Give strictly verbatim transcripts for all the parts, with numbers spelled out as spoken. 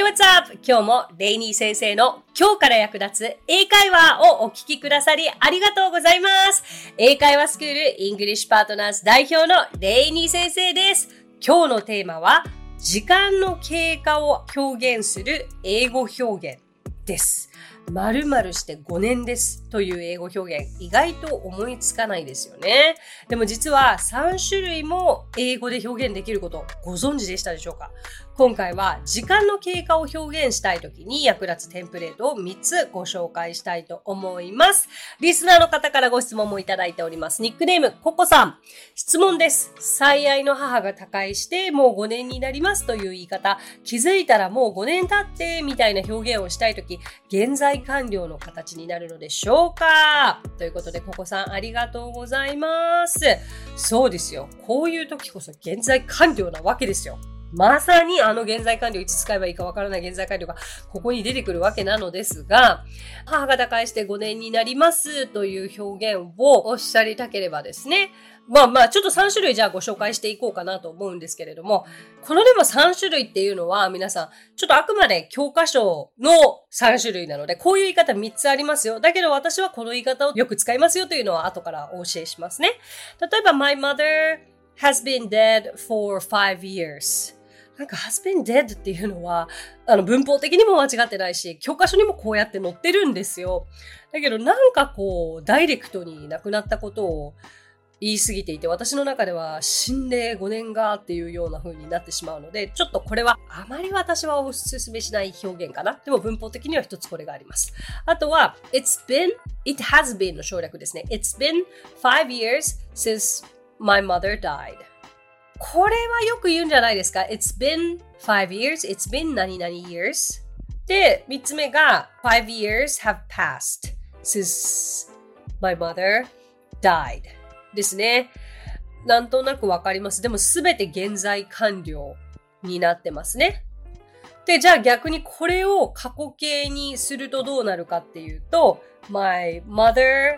what's up? 今日もレイニー先生の今日から役立つ英会話をお聞きくださりありがとうございます。英会話スクールイングリッシュパートナーズ代表のレイニー先生です。今日のテーマは時間の経過を表現する英語表現です。〇〇してごねんですという英語表現、意外と思いつかないですよね。でも実はさん種類も英語で表現できることご存知でしたでしょうか？今回は時間の経過を表現したいときに役立つテンプレートをみっつご紹介したいと思います。リスナーの方からご質問もいただいております。ニックネームココさん。質問です。最愛の母が他界してもうごねんになりますという言い方、気づいたらもうごねん経ってみたいな表現をしたいとき、現在完了の形になるのでしょうか？ということでココさんありがとうございます。そうですよ。こういう時こそ現在完了なわけですよ。まさにあの現在完了、いつ使えばいいかわからない現在完了がここに出てくるわけなのですが、母が他界してごねんになりますという表現をおっしゃりたければですね、まあまあちょっとさん種類じゃあご紹介していこうかなと思うんですけれども、このでもさん種類っていうのは皆さんちょっとあくまで教科書のさん種類なので、こういう言い方みっつありますよ。だけど私はこの言い方をよく使いますよというのは後からお教えしますね。例えば My mother has been dead for five years。なんか has been dead っていうのはあの文法的にも間違ってないし、教科書にもこうやって載ってるんですよ。だけどなんかこうダイレクトに亡くなったことを言い過ぎていて、私の中では死んでごねんがっていうような風になってしまうので、ちょっとこれはあまり私はお勧めしない表現かな。でも文法的には一つこれがあります。あとは It's been, it has been の省略ですね。It's been five years since my mother died。これはよく言うんじゃないですか。It's been five years. It's been 何々 years. で、三つ目が five years have passed since my mother died ですね。なんとなくわかります。でもすべて現在完了になってますね。で、じゃあ逆にこれを過去形にするとどうなるかっていうと、my mother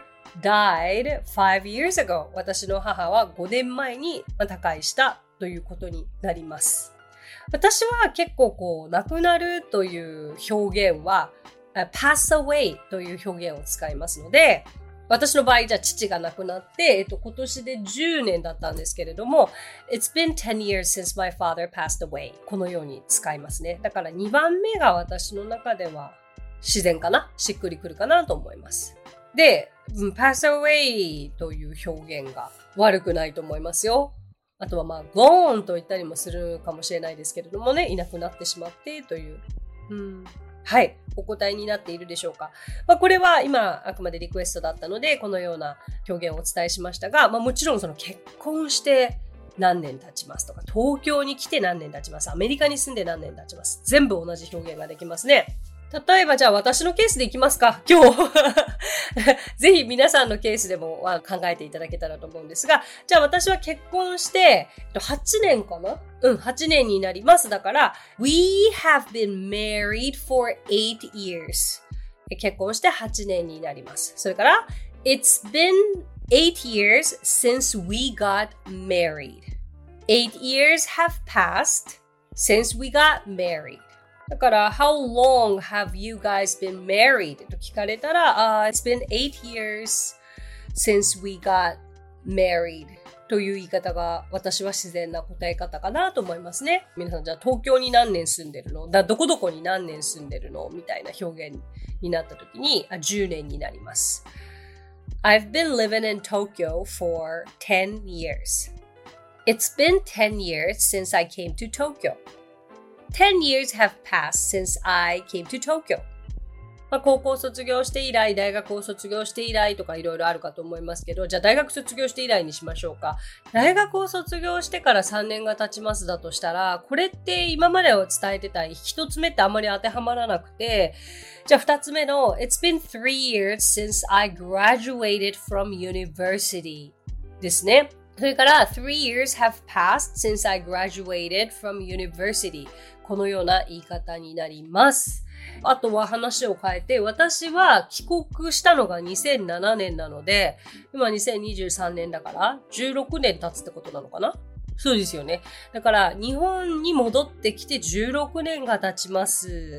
died five years ago。私の母はごねんまえに他界したということになります。私は結構こう、亡くなるという表現は、pass away という表現を使いますので、私の場合じゃあ父が亡くなって、えっと、今年でじゅうねんだったんですけれども、It's been ten years since my father passed away。このように使いますね。だからにばんめが私の中では自然かな？しっくりくるかなと思います。で、pass away という表現が悪くないと思いますよ。あとはまあ gone と言ったりもするかもしれないですけれどもね、いなくなってしまってという、うん、はい、お答えになっているでしょうか。まあ、これは今あくまでリクエストだったのでこのような表現をお伝えしましたが、まあ、もちろんその結婚して何年経ちますとか、東京に来て何年経ちます、アメリカに住んで何年経ちます、全部同じ表現ができますね。例えばじゃあ私のケースでいきますか、今日。ぜひ皆さんのケースでも考えていただけたらと思うんですが、じゃあ私は結婚してはちねんかな？うん、はちねんになります。だから、We have been married for eight years。結婚してはちねんになります。それから、It's been eight years since we got married。eight years have passed since we got married。だから、How long have you guys been married? と聞かれたら、uh, It's been eight years since we got married という言い方が私は自然な答え方かなと思いますね。皆さんじゃあ東京に何年住んでるの？だどこどこに何年住んでるの？みたいな表現になった時にあじゅうねんになります。I've been living in Tokyo for ten years. It's been ten years since I came to Tokyo.ten years have passed since I came to Tokyo. まあ、高校卒業して以来、大学を卒業して以来とかいろいろあるかと思いますけど、じゃあ大学卒業して以来にしましょうか。大学を卒業してからさんねんが経ちますだとしたら、これって今までを伝えてた一つ目ってあんまり当てはまらなくて、じゃあ二つ目の It's been three years since I graduated from university ですね。それから three years have passed since I graduated from university。このような言い方になります。あとは話を変えて、私は帰国したのがにせんななねんなので、今にせんにじゅうさんねんだからじゅうろくねん経つってことなのかな？ そうですよね。だから、日本に戻ってきてじゅうろくねんが経ちます。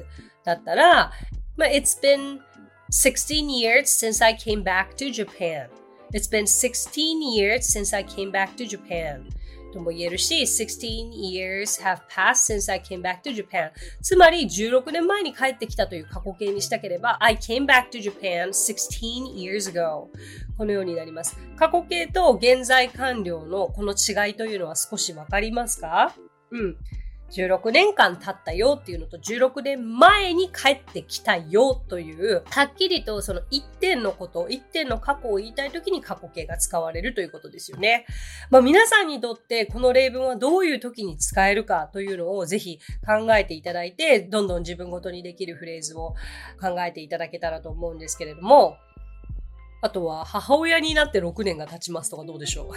だったら、まあ、It's been sixteen years since I came back to Japan.It's been sixteen years since I came back to Japan. とも言えるし、sixteen years have passed since I came back to Japan. つまりじゅうろくねんまえに帰ってきたという過去形にしたければ、I came back to Japan sixteen years ago. このようになります。過去形と現在完了のこの違いというのは少しわかりますか？うん。じゅうろくねんかん経ったよっていうのとじゅうろくねんまえに帰ってきたよという、はっきりとその一点のこと、一点の過去を言いたいときに過去形が使われるということですよね。まあ皆さんにとってこの例文はどういう時に使えるかというのをぜひ考えていただいて、どんどん自分ごとにできるフレーズを考えていただけたらと思うんですけれども、あとは、母親になってろくねんが経ちますとかどうでしょう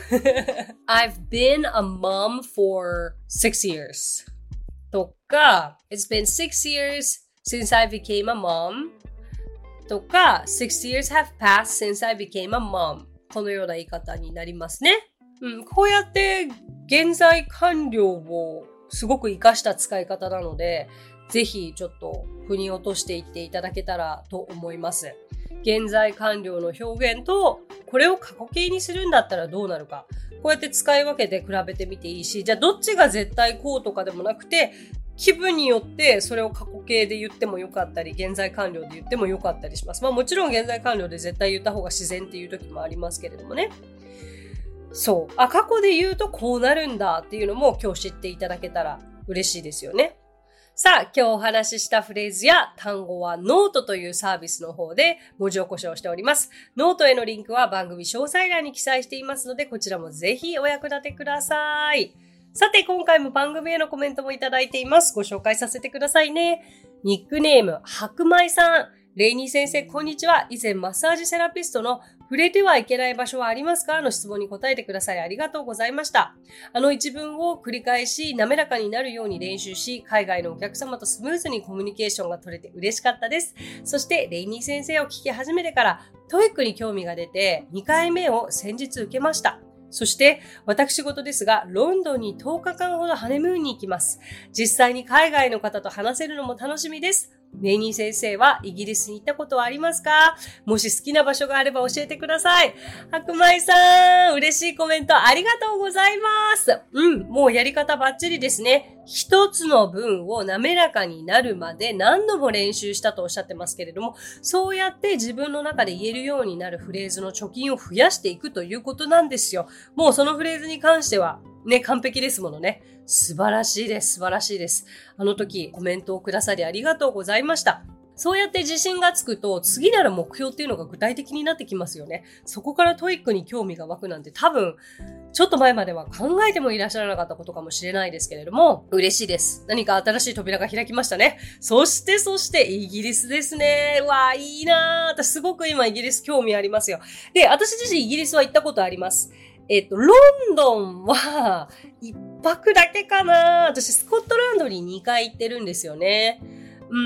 ？I've been a mom for six years. とか、It's been six years since I became a mom. とか、six years have passed since I became a mom. このような言い方になりますね。うん、こうやって現在完了をすごく活かした使い方なので、ぜひちょっと腑に落としていっていただけたらと思います。現在完了の表現と、これを過去形にするんだったらどうなるか。こうやって使い分けて比べてみていいし、じゃあどっちが絶対こうとかでもなくて、気分によってそれを過去形で言ってもよかったり、現在完了で言ってもよかったりします。まあもちろん現在完了で絶対言った方が自然っていう時もありますけれどもね。そう。あ、過去で言うとこうなるんだっていうのも今日知っていただけたら嬉しいですよね。さあ、今日お話ししたフレーズや単語はノートというサービスの方で文字起こしをしております。ノートへのリンクは番組詳細欄に記載していますので、こちらもぜひお役立てください。さて、今回も番組へのコメントもいただいています。ご紹介させてくださいね。ニックネーム、白米さん。レイニー先生、こんにちは。以前、マッサージセラピストの触れてはいけない場所はありますかの質問に答えてください。ありがとうございました。あの一文を繰り返し、滑らかになるように練習し、海外のお客様とスムーズにコミュニケーションが取れて嬉しかったです。そして、レイニー先生を聞き始めてから、トイックに興味が出て、にかいめを先日受けました。そして、私事ですが、ロンドンにとおかかんほどハネムーンに行きます。実際に海外の方と話せるのも楽しみです。レイニー先生はイギリスに行ったことはありますか？もし好きな場所があれば教えてください。白米さん、嬉しいコメントありがとうございます。うん、もうやり方バッチリですね。一つの文を滑らかになるまで何度も練習したとおっしゃってますけれども、そうやって自分の中で言えるようになるフレーズの貯金を増やしていくということなんですよ。もうそのフレーズに関してはね、完璧ですものね。素晴らしいです。素晴らしいです。あの時コメントをくださりありがとうございました。そうやって自信がつくと次なる目標っていうのが具体的になってきますよね。そこからトイックに興味が湧くなんて多分ちょっと前までは考えてもいらっしゃらなかったことかもしれないですけれども、嬉しいです。何か新しい扉が開きましたね。そしてそしてイギリスですね。うわーいいなー。私すごく今イギリス興味ありますよ。で、私自身イギリスは行ったことあります。えっと、ロンドンは一泊だけかな。私スコットランドににかい行ってるんですよね。うん。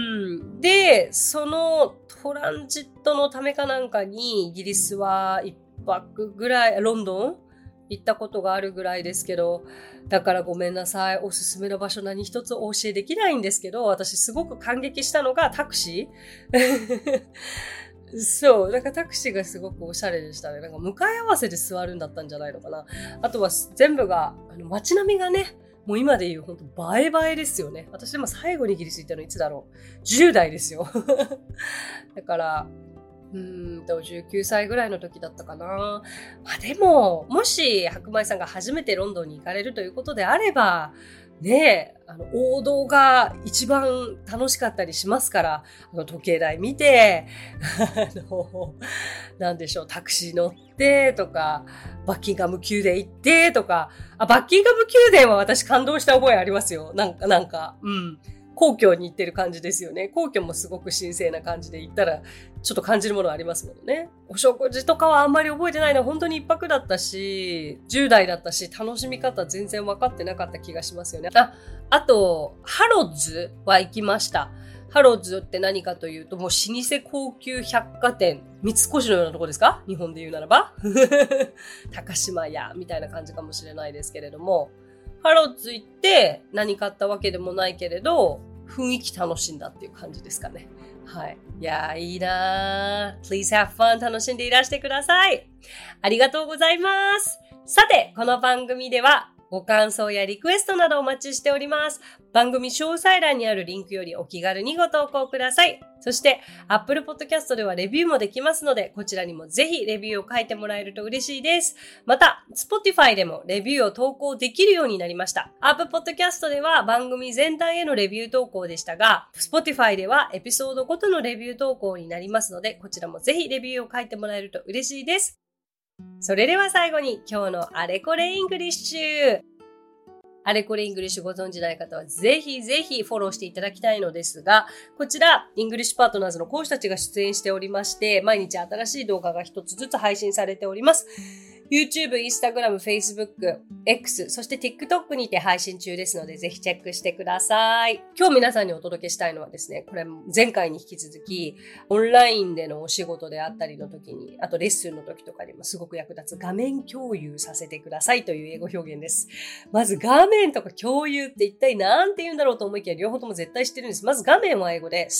で、そのトランジットのためかなんかにイギリスは一泊ぐらい、ロンドン行ったことがあるぐらいですけど、だからごめんなさい。おすすめの場所何一つお教えできないんですけど、私すごく感激したのがタクシーそう。なんかタクシーがすごくおしゃれでしたね。なんか向かい合わせで座るんだったんじゃないのかな。あとは全部が、あの街並みがね、もう今で言うほんと映え映えですよね。私でも最後にイギリス行ったのいつだろう。じゅう代ですよ。だから、うーんと、じゅうきゅうさいぐらいの時だったかな。まあでも、もし白米さんが初めてロンドンに行かれるということであれば、ねえ、あの、王道が一番楽しかったりしますから、あの、時計台見て、あの、なんでしょう、タクシー乗ってとか、バッキンガム宮殿行ってとか、あ、バッキンガム宮殿は私感動した覚えありますよ。なんか、なんか、うん。皇居に行ってる感じですよね。皇居もすごく神聖な感じで行ったら、ちょっと感じるものありますもんね。お食事とかはあんまり覚えてないのは本当に一泊だったし、じゅう代だったし、楽しみ方全然分かってなかった気がしますよね。あ、あと、ハロッズは行きました。ハロッズって何かというと、もう老舗高級百貨店、三越のようなとこですか？日本で言うならば。高島屋みたいな感じかもしれないですけれども、 ハロッズ行って何買ったわけでもないけれど、雰囲気楽しんだっていう感じですかね。はい。いやー、いいなー。Please have fun. 楽しんでいらしてください。ありがとうございます。さて、この番組ではご感想やリクエストなどお待ちしております。番組詳細欄にあるリンクよりお気軽にご投稿ください。そして、Apple Podcast ではレビューもできますので、こちらにもぜひレビューを書いてもらえると嬉しいです。また、Spotify でもレビューを投稿できるようになりました。Apple Podcast では番組全体へのレビュー投稿でしたが、Spotify ではエピソードごとのレビュー投稿になりますので、こちらもぜひレビューを書いてもらえると嬉しいです。それでは最後に今日のあれこれイングリッシュ。あれこれイングリッシュご存知ない方はぜひぜひフォローしていただきたいのですが、こちらイングリッシュパートナーズの講師たちが出演しておりまして、毎日新しい動画が一つずつ配信されております。YouTube、Instagram、Facebook、X、そして TikTok にて配信中ですので、ぜひチェックしてください。今日皆さんにお届けしたいのはですね、これ前回に引き続き、オンラインでのお仕事であったりの時に、あとレッスンの時とかにもすごく役立つ画面共有させてくださいという英語表現です。まず画面とか共有って一体何て言うんだろうと思いきや両方とも絶対知ってるんです。まず画面は英語で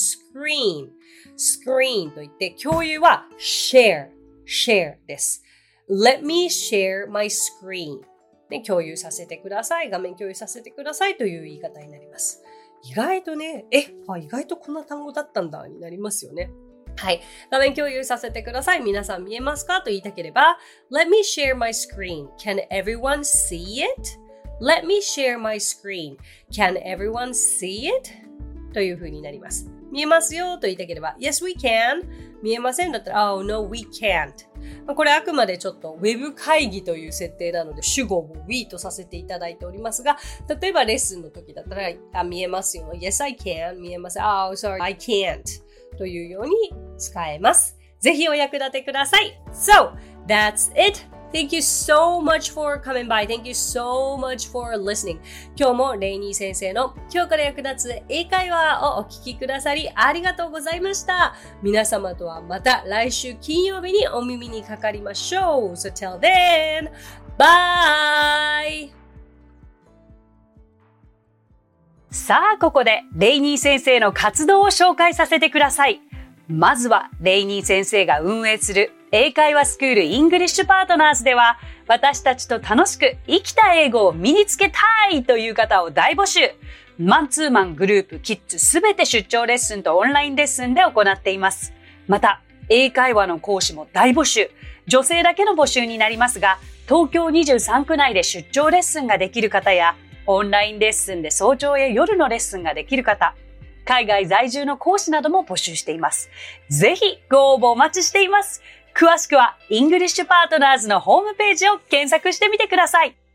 screen、screen と言って、共有は share、share です。Let me share my screen、ね。共有させてください。画面共有させてくださいという言い方になります。意外とね、え、あ、意外とこんな単語だったんだになりますよね。はい。画面共有させてください。皆さん見えますかと言いたければ、Let me share my screen. Can everyone see it?Let me share my screen. Can everyone see it? という風になります。見えますよと言いたければ Yes, we can. 見えませんだったら Oh, no, we can't. これあくまでちょっとウェブ会議という設定なので主語を we とさせていただいておりますが、例えばレッスンの時だったらあ見えますよ Yes, I can. 見えます Oh, sorry, I can't. というように使えます。ぜひお役立てください。So, that's it.Thank you so much for coming by. Thank you so much for listening. 今日もレイニー先生の今日から役立つ英会話をお聞きくださりありがとうございました。皆様とはまた来週金曜日にお耳にかかりましょう。So till then, bye! さあ、ここでレイニー先生の活動を紹介させてください。まずはレイニー先生が運営する英会話スクールイングリッシュパートナーズでは、私たちと楽しく生きた英語を身につけたいという方を大募集。マンツーマン、グループ、キッズすべて出張レッスンとオンラインレッスンで行っています。また、英会話の講師も大募集。女性だけの募集になりますが、東京にじゅうさんく内で出張レッスンができる方や、オンラインレッスンで早朝や夜のレッスンができる方、海外在住の講師なども募集しています。ぜひご応募お待ちしています。詳しくはイングリッシュパートナーズのホームページを検索してみてください。